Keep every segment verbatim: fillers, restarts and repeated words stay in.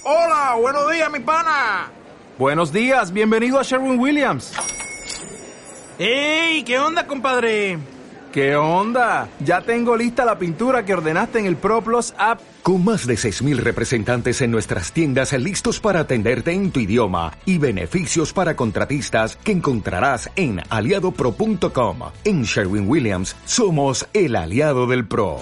Hola, buenos días, mi pana. Buenos días, bienvenido a Sherwin-Williams. ¡Ey! ¿Qué onda, compadre? ¿Qué onda? Ya tengo lista la pintura que ordenaste en el ProPlus app. Con más de seis mil representantes en nuestras tiendas listos para atenderte en tu idioma y beneficios para contratistas que encontrarás en aliado pro punto com. En Sherwin-Williams somos el aliado del pro.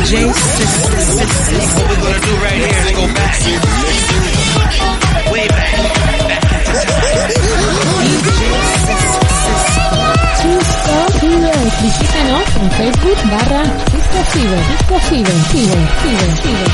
J System. What we're gonna do right here is go back. Way back. Back into Ciber. Visítanos en Facebook barra Cisco Ciber. Cisco Ciber. Ciber. Ciber. Ciber.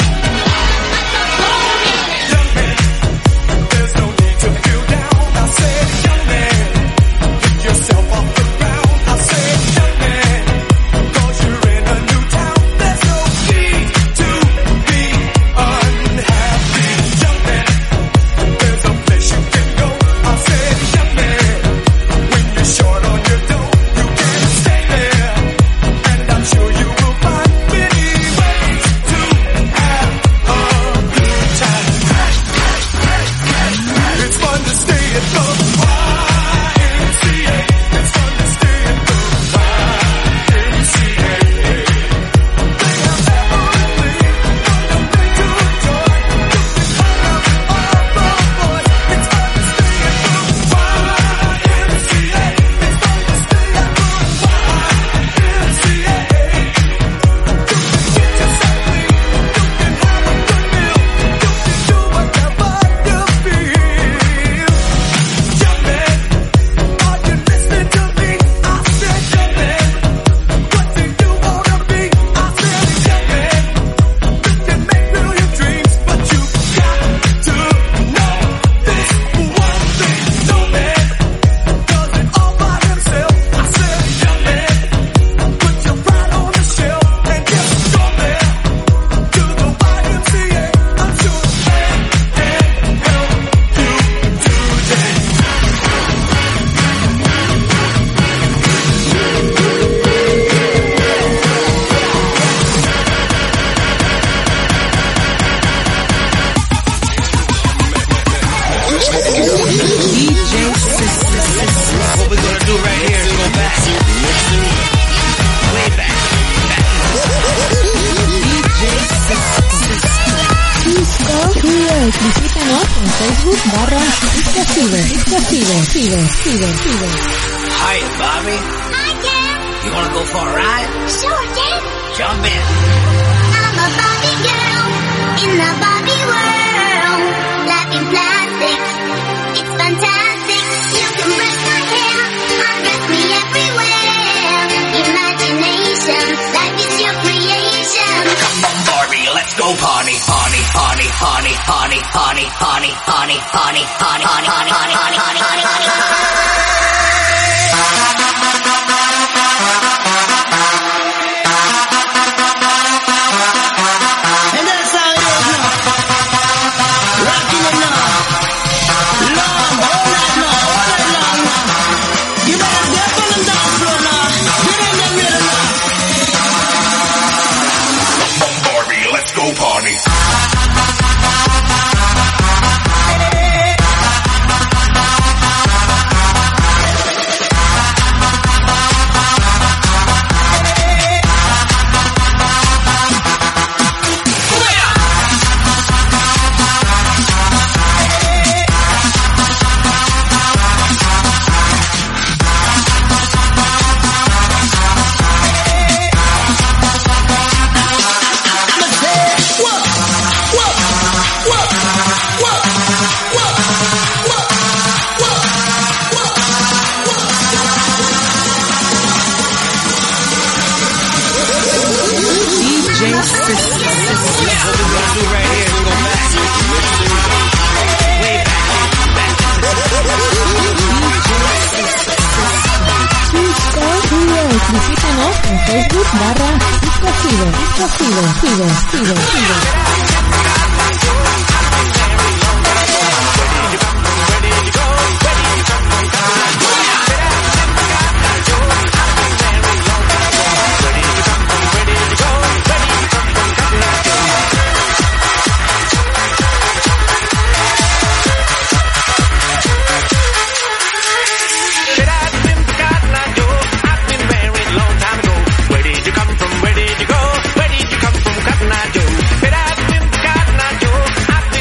Visítanos en Facebook barra Cisco Ciber. Cisco Ciber. Ciber. Ciber. Ciber. Hi, Bobby. Hi, Ken. You wanna go for a ride? Sure, Ken. Jump in. I'm a Barbie girl in the Barbie world. Life in plastic, it's fantastic. You can brush my hair, undress me everywhere. Imagination, life is your creation. Come on, Barbie, let's go party, party, party, party, party, party, party, party, party, party, party, party, party, party, party, party, party. Visítanos en Facebook barra Cisco Ciber. Cisco Ciber. Ciber. Ciber. Ciber. Where did you come from, Cotton Eye Joe?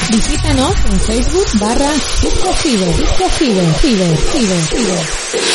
Visítanos en Facebook barra Disco Fever, Disco Fever, Fever, Fever, Fever.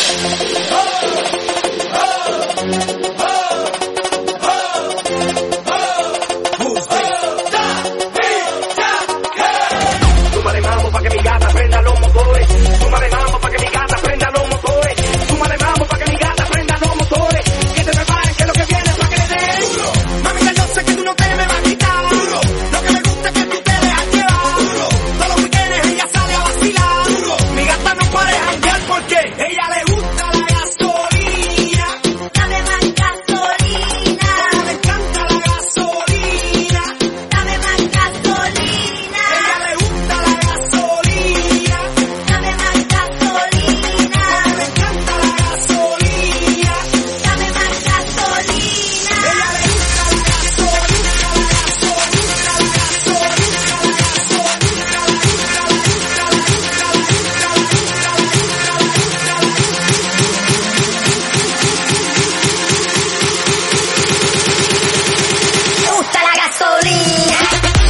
Súmale mambo pa' que mi gata prenda los motores. Súmale mambo pa' que mi gata prenda los motores. Súmale mambo pa' que mi gata prenda los motores. Que se preparen que lo que viene es pa' que le den. Mamita, yo sé que tú no te me vas a quitar. Lo que me gusta es que tú te dejas llevar. Todos los weekends ella sale a vacilar. Mi gata no puede janguear porque ella le gusta la gasolina. Dame más gasolina. Le encanta la gasolina. Dame más gasolina. Ella le gusta la gasolina. Dame más gasolina. Le encanta la gasolina. Dame más gasolina. Ella le gusta la gasolina. Me gusta la gasolina.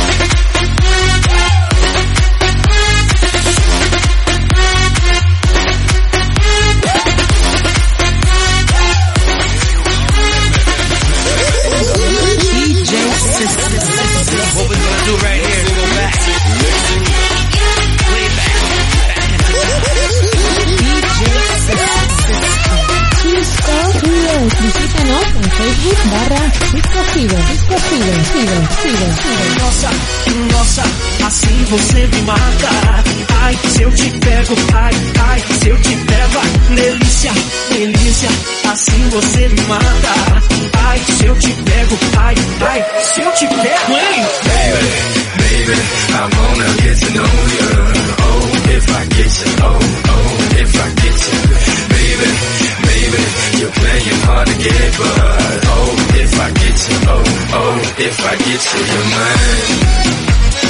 Visítanos en Facebook barra Disco Fever, Disco Fever, Fever, Fever, Fever. Nossa, nossa, assim você me mata. Ai, se eu te pego, ai, ai, se eu te pego, ai, delícia, delícia, assim você me mata. Ai, se eu te pego, ai, ai, se eu te pego, hein? Baby, baby, I wanna get to know you. Oh, if I get you, oh, oh, if I get you. Baby, baby, you're playing hard to get, but oh, if I get you, oh, oh, if I get you, you're mine.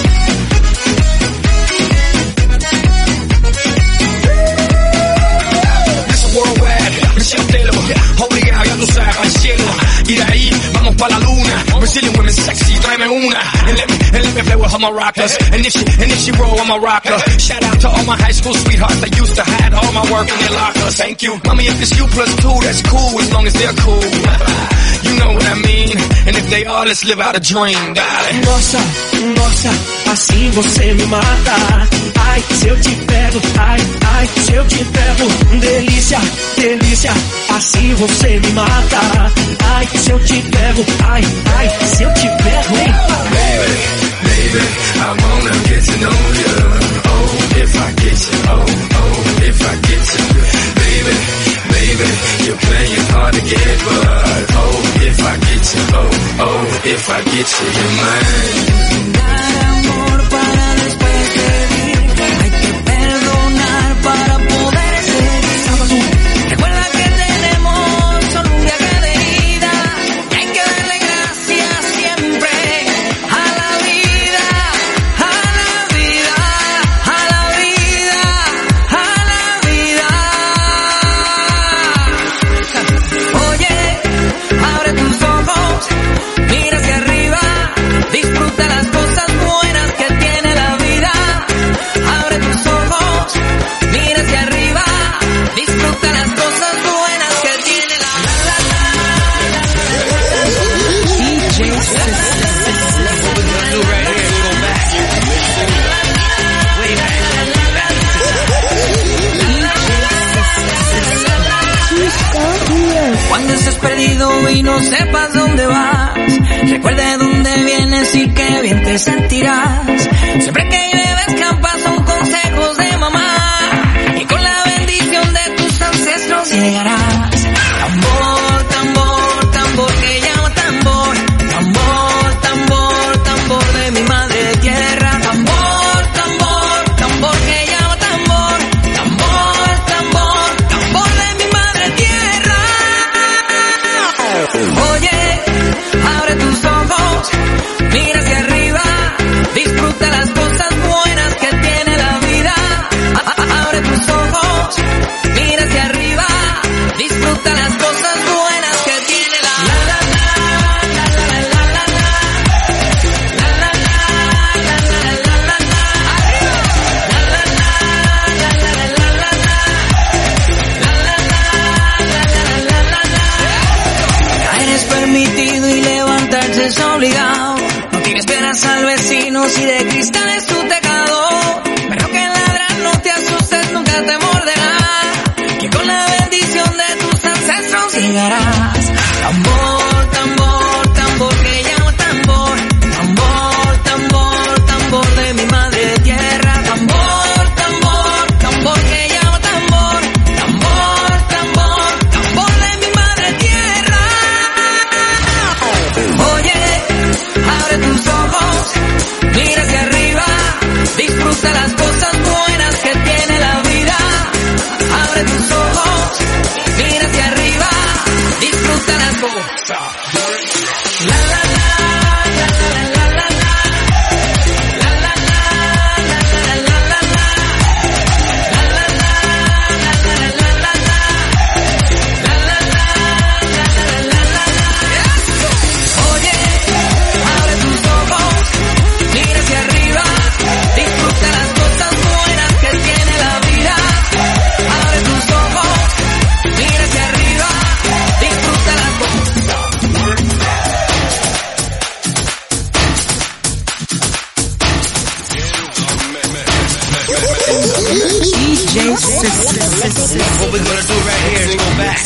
Worldwide, Michelle Taylor, obligado, ya tú sabes, al cielo. Y de ahí vamos pa' la luna. Brazilian women sexy, tráeme una. And let me, and let me play with all my rockers. And if she, and if she roll, I'm a rocker. Shout out to all my high school sweethearts that used to hide all my work in their lockers. Thank you. Mommy, if it's you plus two, that's cool as long as they're cool. You know what I mean. And if they are, let's live out a dream, darling. Nossa, nossa, assim você me mata. Ai, se eu te pego, ai, ai, se eu te pego, delícia, delícia, assim você me mata. Ai, se eu te pego, ai, ai, se eu te pego, hein? Baby, baby, I wanna get to know you. Oh, if I get you, oh, oh, if I get you. Baby, baby, you're playing hard to get, but oh, if I get you, oh, oh, if I get you, you're mine. Dar amor para después pedir, hay que perdonar para poder seguir. Recuerda que tenemos solo un viaje de ida y hay que darle gracias siempre a la vida, a la vida, a la vida, a la vida. Oye, abre tus ojos, mira hacia arriba, disfruta las cosas buenas que tiene la vida. Abre tus ojos, mira hacia arriba, disfruta las cosas buenas que tiene la Cuando estés perdido y no sepas dónde vas, recuerda de dónde vienes y qué bien te sentirás. Siempre que llueve escampa son consejos de mamá y con la bendición de tus ancestros llegarás. Tambor, tambor, tambor que llama tambor. Tambor, tambor, tambor de mi madre tierra. Tambor, tambor, tambor que llama tambor. Tambor, tambor, tambor de mi madre tierra. Oye, abre tus ojos, mira hacia arriba, disfruta las cosas permitido y levantarse es obligado. No tienes penas al vecino si de cristal es tu tejado. Pero que ladrar no te asustes, nunca te morderá, que con la bendición de tus ancestros llegarás. Tambor, tambor, tambor que llamo tambor. Tambor, tambor, tambor de mi madre tierra. Tambor, tambor, tambor que llamo tambor. Tambor, tambor, tambor de mi madre tierra. Oye, abre tus ojos, mira hacia arriba, disfruta las cosas buenas que tiene la vida. Abre tus ojos, mira hacia arriba, disfruta las cosas. La la la, la la la la la, la la la, la la la la la, la la la, la la la la la, la la la, la la la la. Oye, abre tus ojos, mira hacia arriba, disfruta las cosas buenas que tiene la vida. Abre tus ojos, mira hacia arriba, disfruta las cosas. D J System. What we're gonna do right here is go back.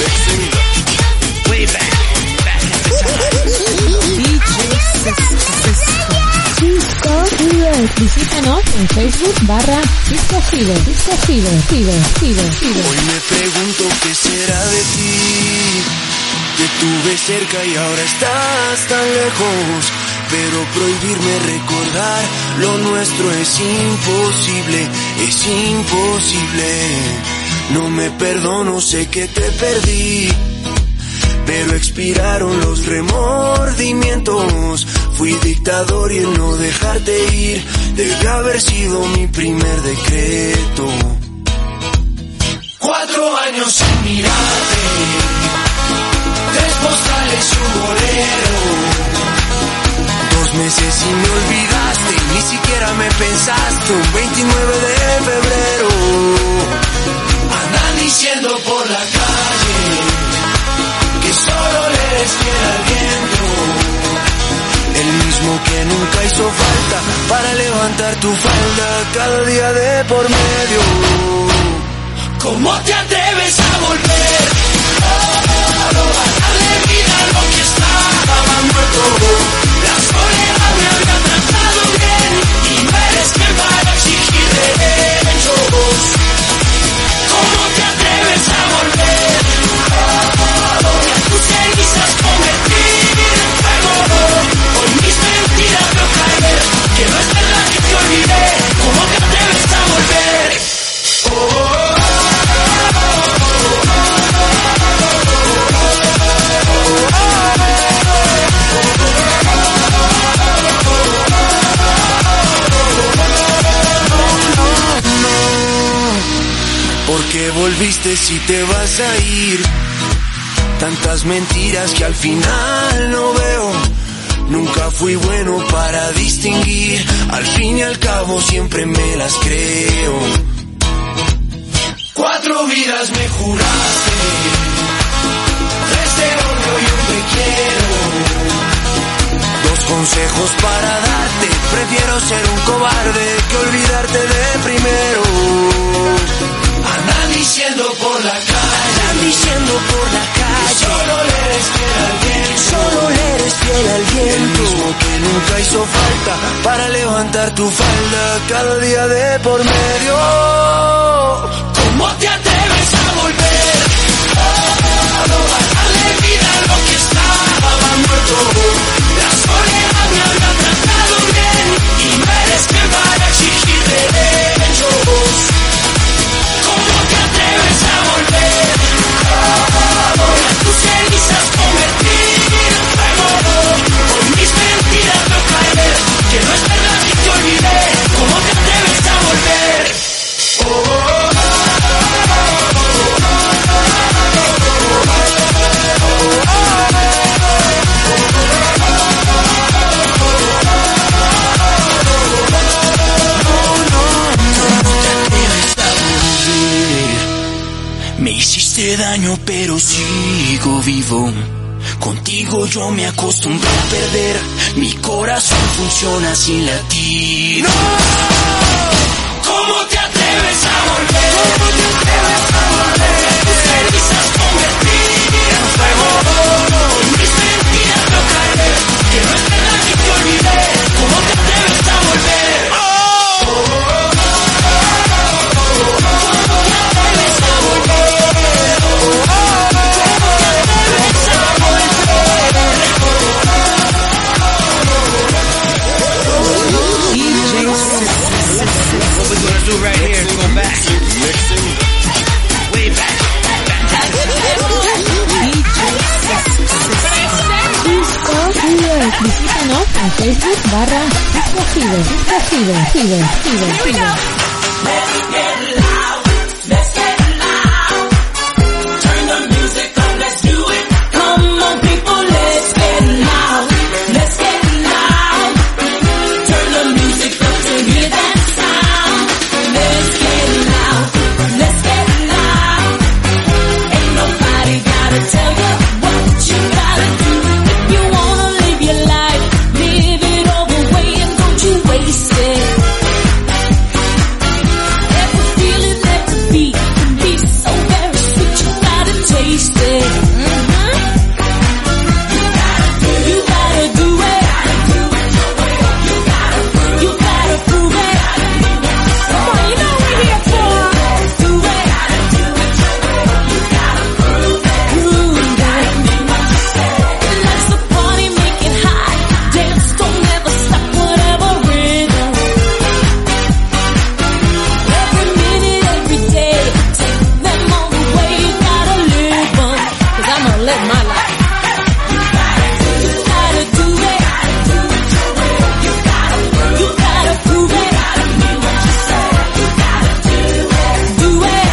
Way back. Back at the time. D J System. Cisco Fever. Visítanos en Facebook barra Cisco Fever. Cisco Fever. Fever. Fever. Fever. Hoy me pregunto qué será de ti. Te tuve cerca y ahora estás tan lejos. Pero prohibirme recordar lo nuestro es imposible, es imposible. No me perdono, sé que te perdí, pero expiraron los remordimientos. Fui dictador y el no dejarte ir debe haber sido mi primer decreto. Cuatro años sin mirarte, tres postales y un bolero. Dos meses y me olvidaste, ni siquiera me pensaste. Un veintinueve de febrero andan diciendo por la calle que solo le eres fiel al viento. El mismo que nunca hizo falta para levantar tu falda cada día de por medio. ¿Cómo te atreves a volver? Oh, a darle vida a lo que estaba muerto. La soledad me había tratado bien y no eres quien para exigir derechos. ¿Cómo te atreves a volver? Oh, y a tus cenizas convertir en fuego. Hoy mis mentiras veo caer, que no es verdad que te olvidé. ¿Cómo te atreves a volver? Oh, oh, oh. ¿Por qué volviste si te vas a ir? Tantas mentiras que al final no veo. Nunca fui bueno para distinguir. Al fin y al cabo siempre me las creo. Cuatro vidas me juraste, tres de odio y un te quiero. Dos consejos para darte, prefiero ser un cobarde que olvidarte de primero. Andan diciendo por la calle, andan diciendo por la calle, que solo le eres fiel al viento, solo le eres fiel al viento. El mismo que nunca hizo falta para levantar tu falda cada día de por medio. ¿Cómo te atreves a volver? Oh, a darle vida a lo que estaba muerto. La soledad me había tratado bien y no eres quien para exigir derechos. ¿Cómo te atreves a volver? Oh, a tus cenizas convertir en fuego. Hoy mis mentiras veo caer, que no es verdad que te olvidé. ¿Cómo te atreves a volver? Oh, oh, oh. Me hiciste daño pero sigo vivo. Contigo yo me acostumbré a perder, mi corazón funciona sin latir. ¡No! ¿Cómo te atreves a volver? ¿Cómo te atreves a volver? Tus cenizas convertir en fuego. Mis mentiras no caer, que no es verdad que te olvidé. ¿Cómo te atreves a volver? ¡Oh! Do right here, go back. Way back. Disco Fever. Visítanos en Facebook barra Disco Fever. Disco Fever. Fever. Fever. Fever. Let's get loud. Let's get loud. Turn the music up. Let's do it. Come on, people. Let's get loud. Let's get loud. Turn the music up to hear that sound. Let's get loud. Let's get loud. Ain't nobody gotta tell you what you gotta do. If you wanna live your life, live it all the way and don't you waste it. Every feeling that to be can be so very sweet. You gotta taste it. Mm-hmm. You gotta do it. You gotta you gotta prove it. Come on, you know we're here for. Do it. You gotta prove it. Prove it. Let's the party, make it hot. Dance, don't never stop, whatever rhythm. Every minute, every day, take them all the way. You gotta live 'em, 'cause I'ma live my life. You gotta do it. You gotta prove it. Do it.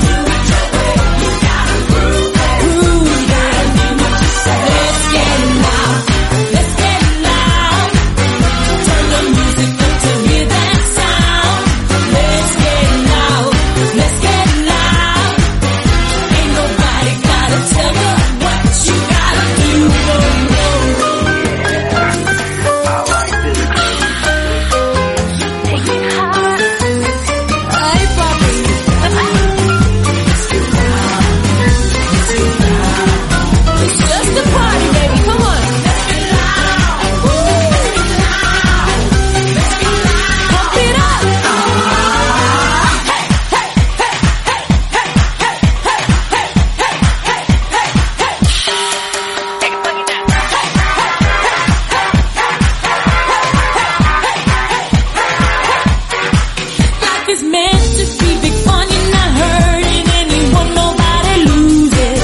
Prove it. Let's get loud. Let's get loud. Turn the music up to hear that sound. Let's get loud. Let's get loud. Ain't nobody gotta tell you what you gotta do. Ay, papi. It's just a party, baby. Come on. Pump it up. Life is meant to be big fun. You're not hurting anyone. Nobody loses.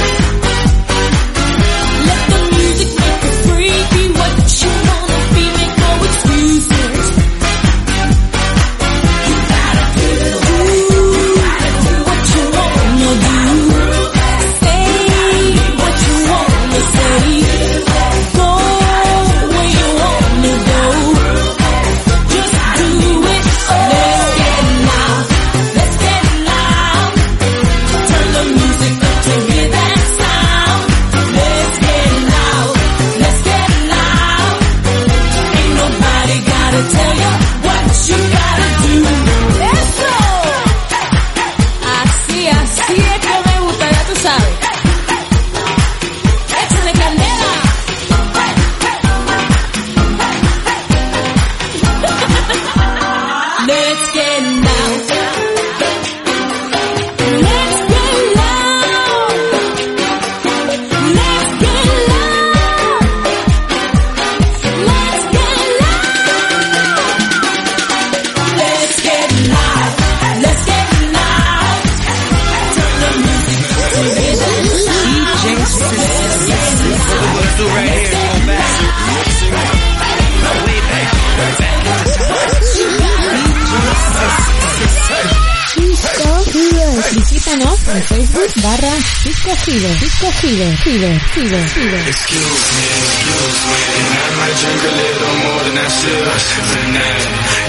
Let the music make you free. Be what you wanna be. Make no excuses. You gotta do what you wanna do. Say what you wanna say. Go where you wanna go. Just do it. Let's get loud. Let's get loud. Turn the music up to hear that sound. Let's get loud. Let's get loud. Ain't nobody gotta tell you what you gotta do. Eso. Así, así es que me gusta, ya tú sabes. Échale candela. Let's get loud. Let's get loud. Let's get loud. Let's get loud. Let's get loud. Let's get loud. Turn the music up to hear that sound. Let's get loud. Do right here, go back. Way back. Disco Fever. Visítanos en Facebook barra Disco Fever. Disco Fever. Fever. Fever. Fever. Excuse me, excuse me, and I might drink a little more than I should tonight.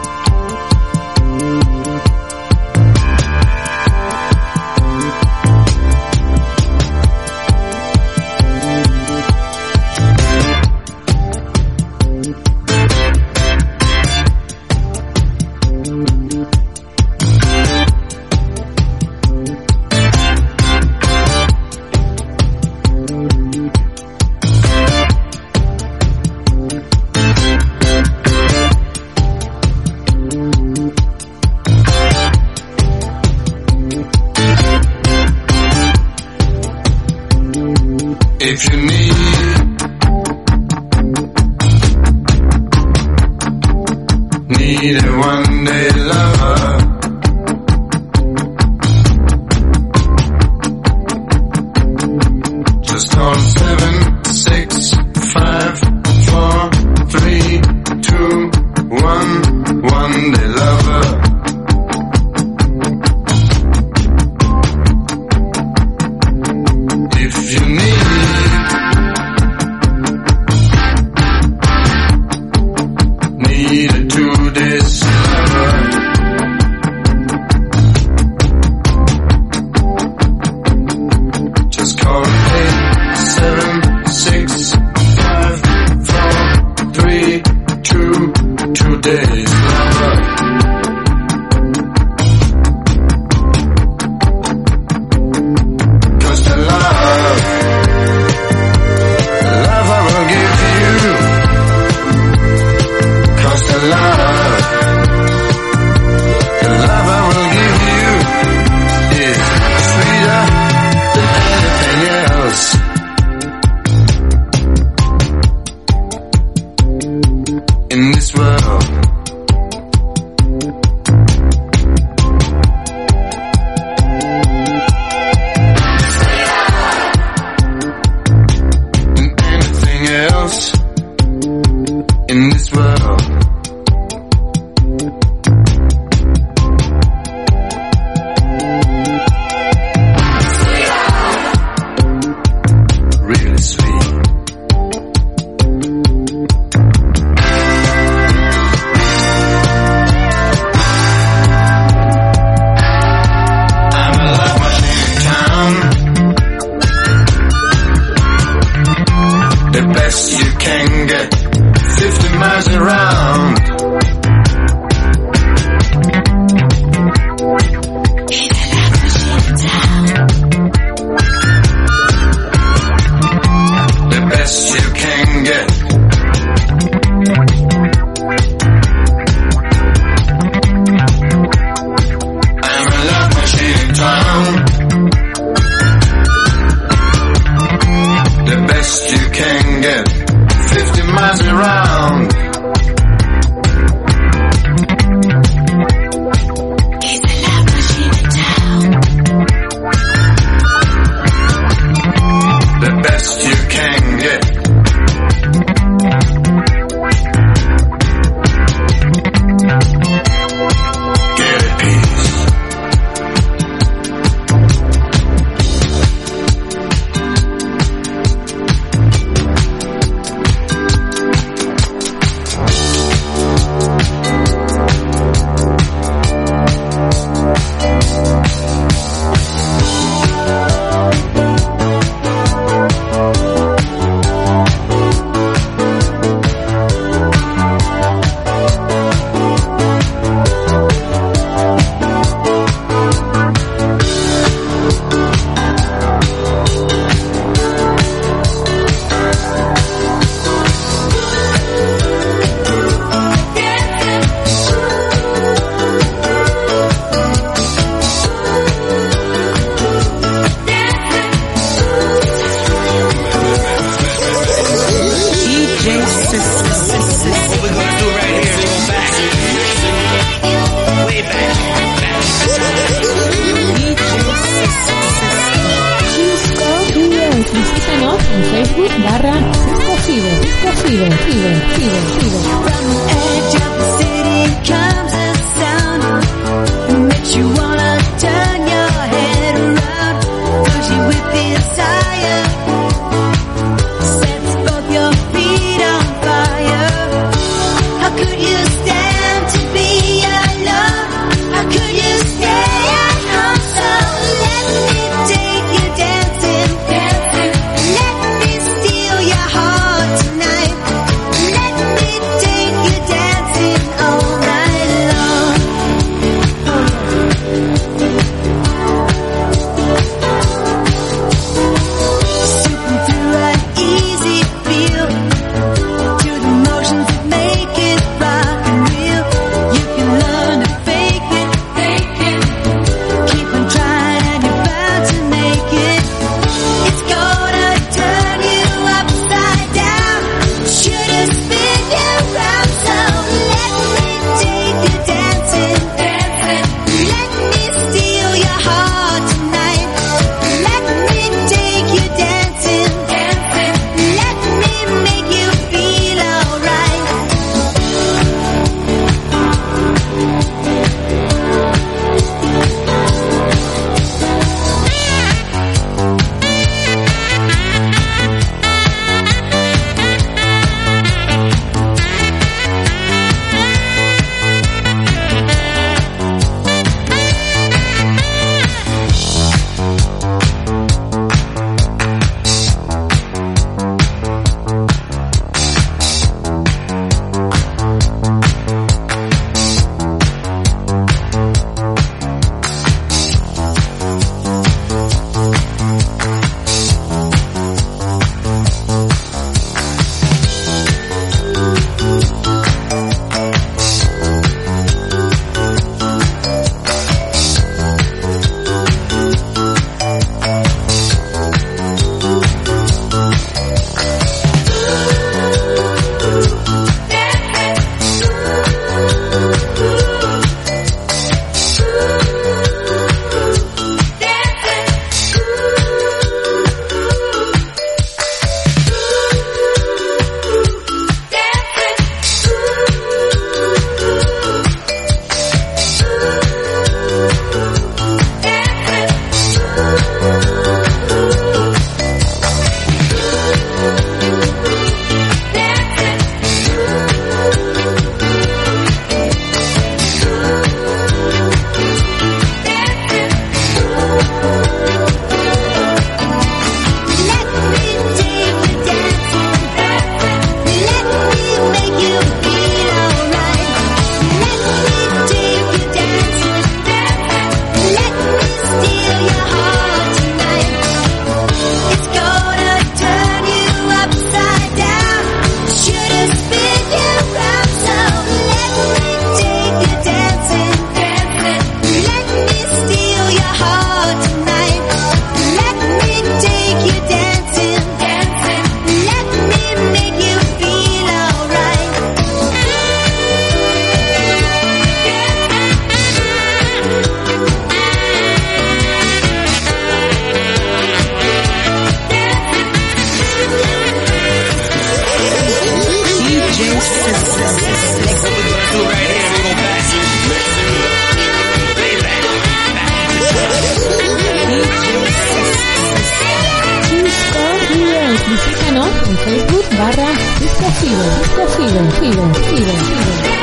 If you need need a one day lover, just call seven six five four three two one one day lover. If you need need a two days lover, just call eight seven six five four three two two days lover. Cause the love, the love I will give you, cause the love, the love I will give you is sweeter than anything else. In this world, than anything else. In this world, really sweet. I'm a love machine in town, the best you can get, fifty miles around. The best you can get. I'm a love machine in town. The best you can get, fifty miles around. The best you can get. Get it, peace. Visítanos en Facebook barra Cisco Fiber, Cisco Fiber, Fiber, Fiber, Fiber. From the edge of the city comes a sound that makes you wanna turn your head around. Cause you with desire sets both your feet on fire. How could you stand to be alone? How could you stay at home? So let me take you dancing, dancing. Let me steal your heart tonight. Let me barra Disco Fever, Disco Fever, Fever, Fever, Fever.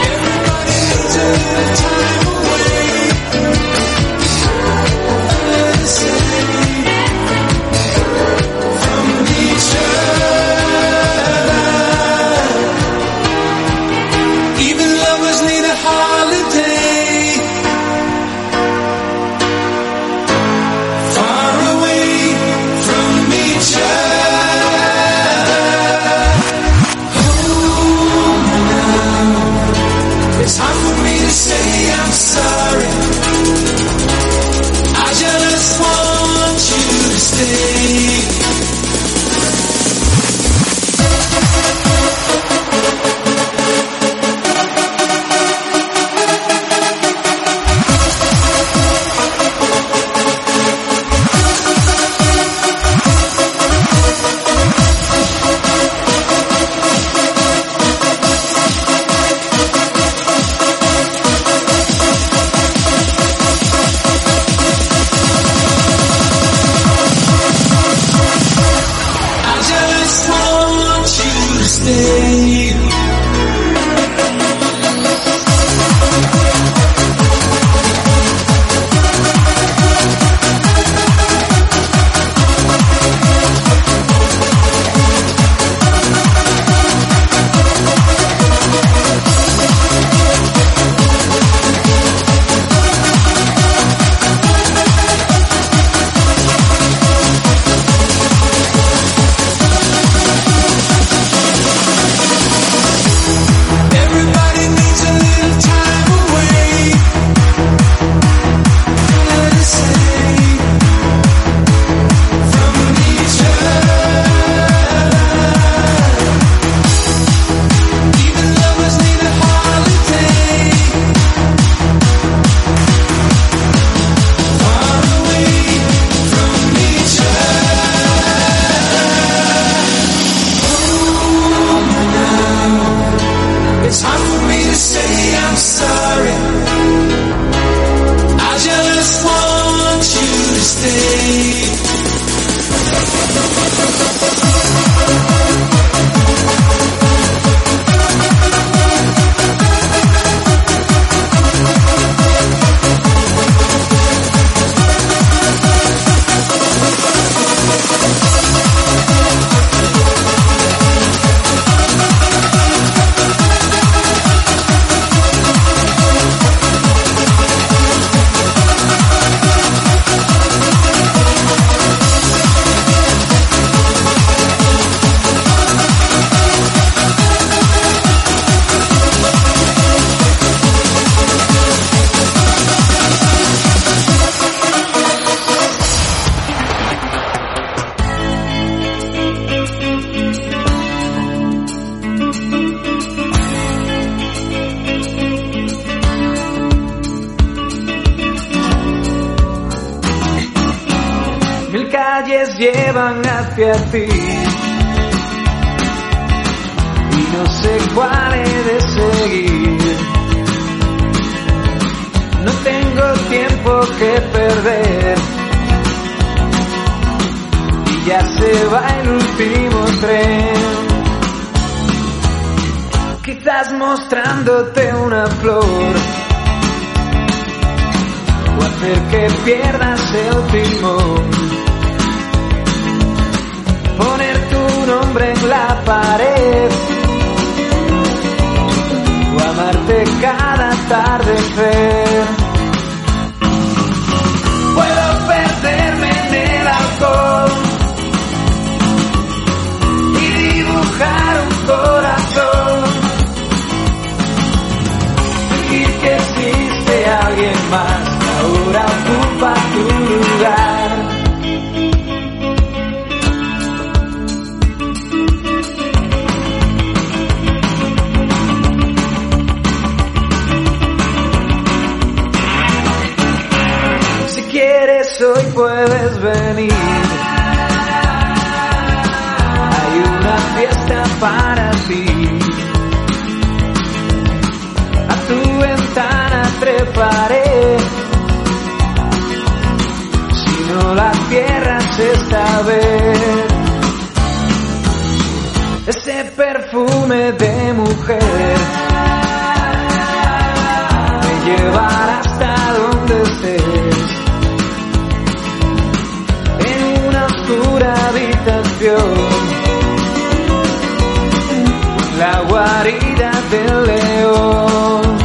Llevan hacia ti y no sé cuál he de seguir. No tengo tiempo que perder y ya se va el último tren. Quizás mostrándote una flor o hacer que pierdas el timón. Poner tu nombre en la pared o amarte cada atardecer. Puedo perderme en el alcohol y dibujar un corazón, fingir que existe alguien más que ahora ocupa tu lugar. Hoy puedes venir, hay una fiesta para ti. A tu ventana treparé, si no la cierras esta vez. Ese perfume de mujer me llevará hasta donde estés, en una oscura habitación, la guarida del león.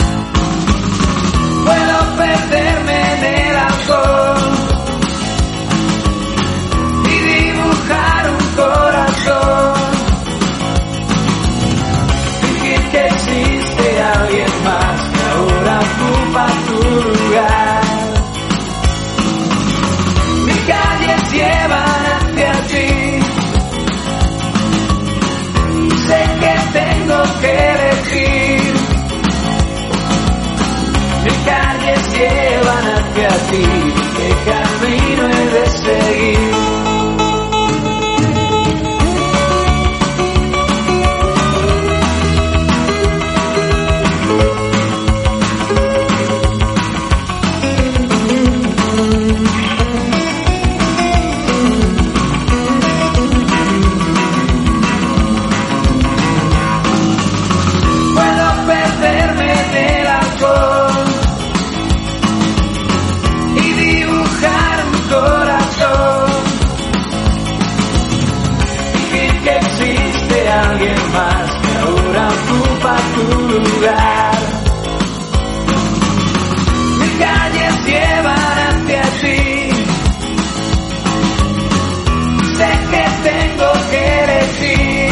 Puedo perderme en el alcohol y dibujar un corazón, fingir que existe alguien más que ahora ocupa tu lugar. Mis calles llevan hacia ti, sé que tengo que elegir. Mis calles llevan hacia ti, ¿qué camino he de seguir? Alguien más que ahora ocupa tu lugar. Mis calles llevan hacia ti, sé que tengo que elegir.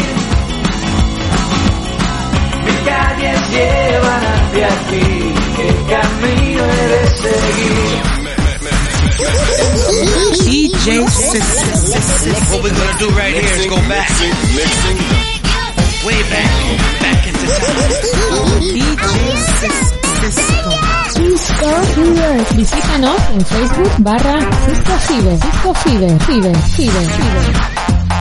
Mis calles llevan hacia ti, ¿qué camino he de seguir? D J System. What we're gonna do right here is go back. Way back, back into time. D J System. Cisco Fever. Visítanos en Facebook barra Cisco Fever. Cisco Fever. Fever. Fever. Fever.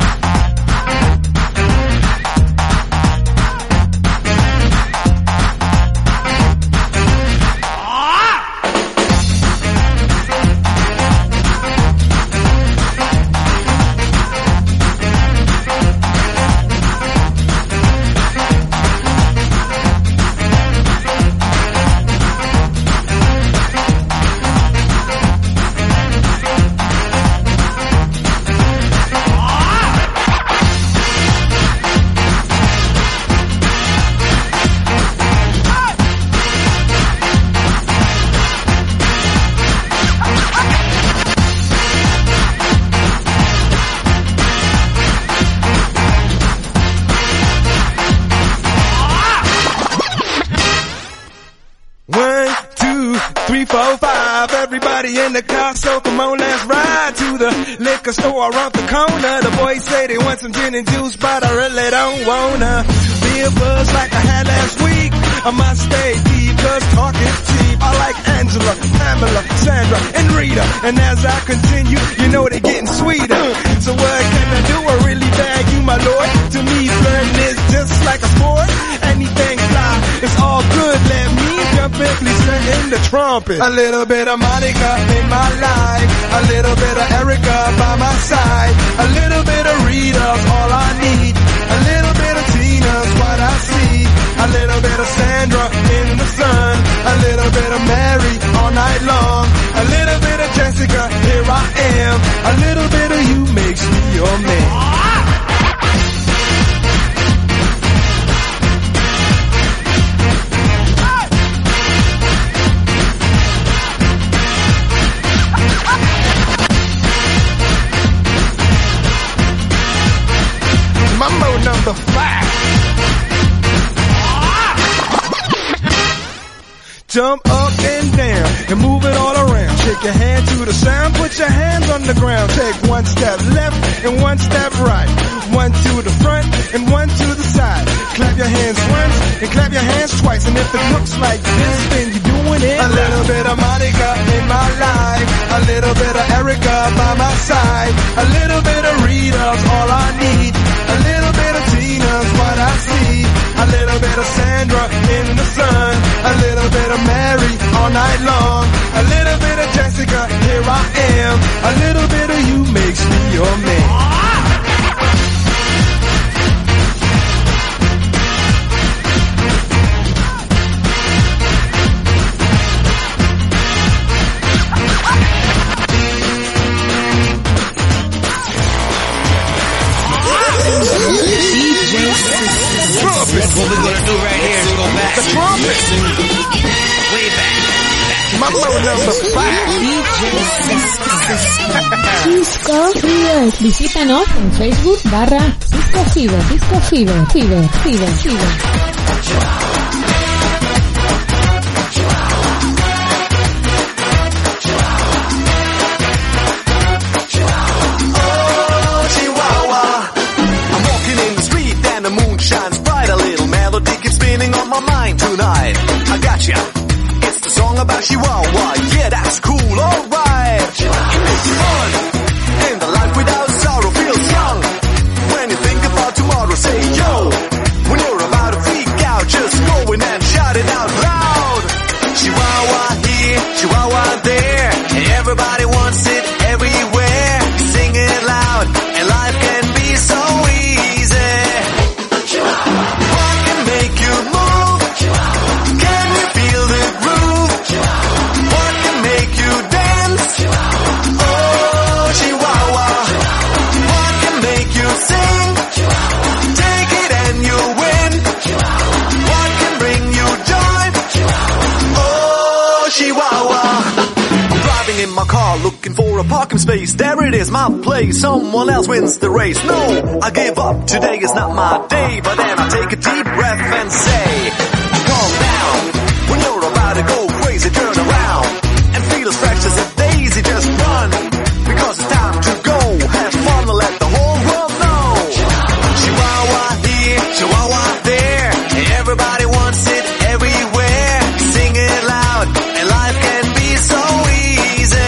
In the car, so come on, let's ride to the liquor store around the corner. The boys say they want some gin and juice, but I really don't wanna be a buzz like I had last week. I must stay deep, cause talk is cheap. I like Angela, Pamela, Sandra, and Rita. And as I continue, you know they're getting sweeter. So what can I do? I really bag you, my lord. To me, flirting is just like a sport. Anything fly, it's all good. Let me jump in, please sing in the trumpet. A little bit of Monica in my life, a little bit of Erica by my side, a little bit of Rita's all I need, a little bit of Tina's what I see, a little bit of Sandra in the sun, a little bit of Mary all night long, a little bit of Jessica, here I am, a little bit of you makes me your man. Mambo number five. Jump up and down and move it all around. Shake your hand to the sound, put your hands on the ground. Take one step left and one step right. One to the front and one to the side. Clap your hands once and clap your hands twice. And if it looks like this, then you're doing it. A little bit of Monica in my life, a little bit of Erica by my side, a little bit of Rita's all I need, a little bit of Tina's what I see, a little bit of Sandra in the sun, a little bit of Mary all night long, a little bit of Jessica, here I am, a little bit of you makes me your man. Mambo number five. Cisco Fever. Visítanos en Facebook barra Cisco Fever. Cisco Fever. Fever. Fever. Fever. Shines bright, a little melody keeps spinning on my mind tonight. I gotcha. It's the song about Chihuahua. Yeah, that's cool, alright. It makes you fun. And the life without sorrow feels young. When you think about tomorrow, say yo. When you're about to freak out, just go in and shout it out loud. Chihuahua here, Chihuahua there. Everybody wants it everywhere. Sing it loud, and life can be so easy. What can make you move? Can you feel the groove? What can make you dance? Oh, Chihuahua. What can make you sing? Take it and you win. What can bring you joy? Oh, Chihuahua. I'm driving in my car looking for a parking space. There it is, my place. Someone else wins the race. No, I give up. Today is not my day. But then I take a deep breath and say, calm down. When you're about to go crazy, turn around and feel as fresh as a daisy. Just run, because it's time to go. Have fun and let the whole world know. Chihuahua here, Chihuahua there. Everybody wants it everywhere. Sing it loud, and life can be so easy.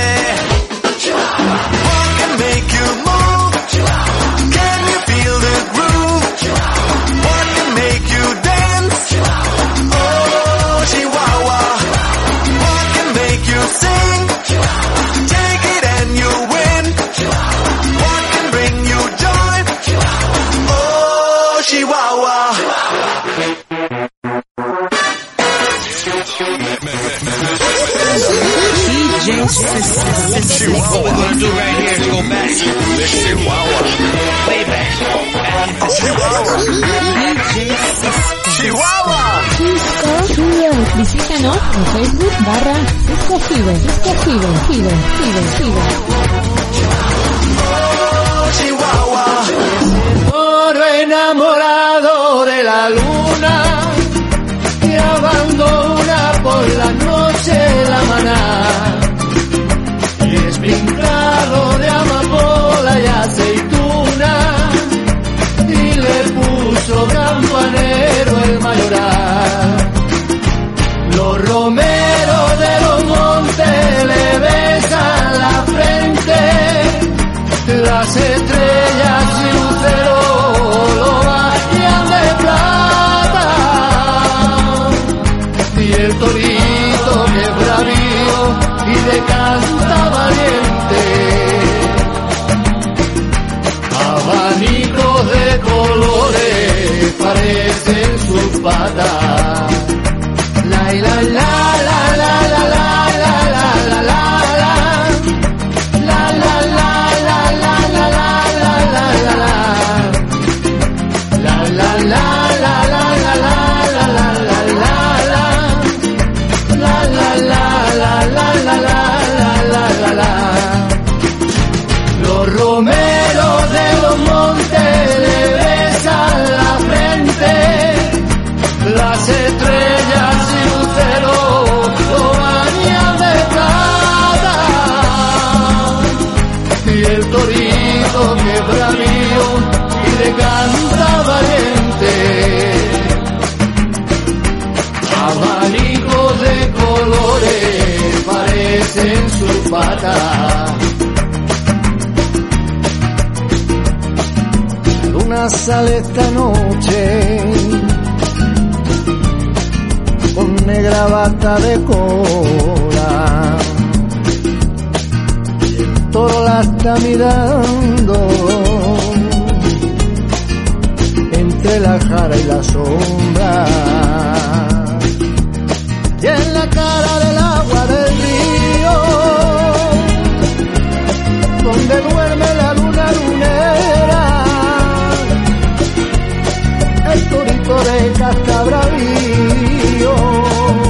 What can make you move? Can you feel the groove? What can make you dance? Oh, Chihuahua. What can make you sing? Take it and you win. What can bring you joy? Oh, Chihuahua. D J System. What we're gonna do right here is go back. Chihuahua. Way back. Chihuahua. Chihuahua. Cisco Fever. Visítanos en Facebook barra Cisco Fever. Cisco Fever. Fever. Fever. Fever. Oh, Chihuahua. Oro enamorado de la luna que abandona por la noche la maná y es pintado de amapola y aceituna y le puso campanero el mayoral. Los romeros de los montes le besan la frente, las estrellas y luceros lo bañan de plata y el torito que es bravío y de canta valiente, abanicos de colores parecen sus patas. La la la la la la la la la la la la la la la la Los romeros de los montes le besan la frente, las estrellas y luceros lo bañan de plata y el torito que es bravío y de canta valiente, abanicos de colores parecen sus patas. La luna sale esta noche con negra bata de cola y el toro la está mirando entre la jara y la sombra, y en la cara del agua del río donde duerme la luna lunera, el torito de casca bravío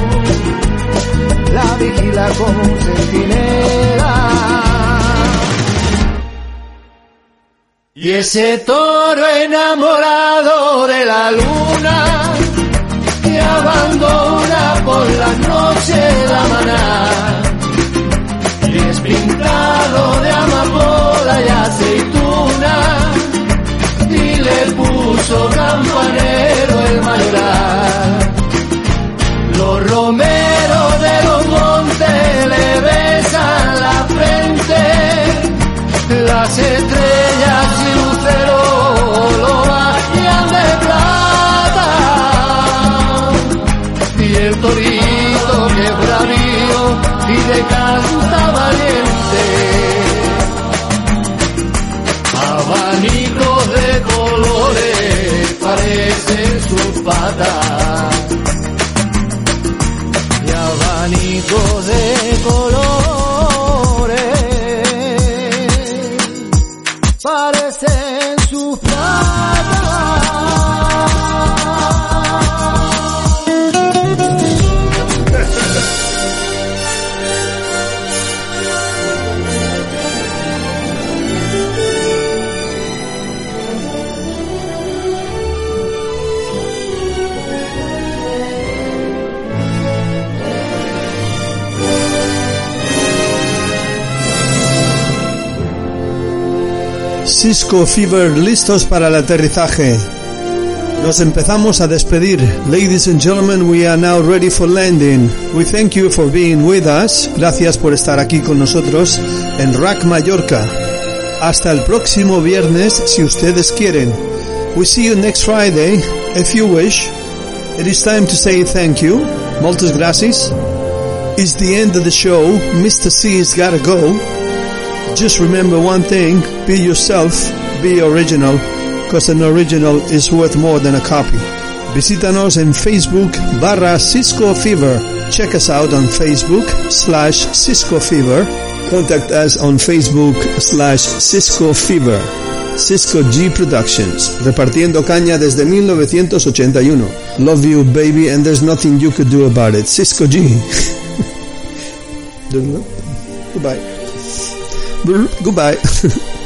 Y ese toro enamorado de la luna que abandona por la noche la maná, y es pintado de amapola y aceituna, y le puso campanero el mayoral. Los romeros de los montes le besan la frente, las estrellas y luceros lo bañan de plata, y el torito que es bravío y de canta valiente, abanicos de colores parecen sus patas, y abanicos de colores parecen sus Cisco Fever, listos para el aterrizaje. Nos empezamos a despedir. Ladies and gentlemen, we are now ready for landing. We thank you for being with us. Gracias por estar aquí con nosotros en R A C Mallorca. Hasta el próximo viernes, si ustedes quieren. We see you next Friday, if you wish. It is time to say thank you. Moltes gracias. It's the end of the show. Mister C's gotta go. Just remember one thing, be yourself, be original, because an original is worth more than a copy. Visítanos en Facebook barra Cisco Fever. Check us out on Facebook slash Cisco Fever. Contact us on Facebook slash Cisco Fever. Cisco G Productions, repartiendo caña desde mil novecientos ochenta y uno. Love you, baby, and there's nothing you could do about it. Cisco G. Goodbye. Goodbye.